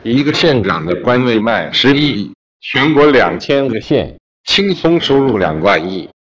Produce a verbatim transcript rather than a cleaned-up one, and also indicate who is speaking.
Speaker 1: 一个县长的官位卖十一亿，全国两千个县轻松收入两万亿。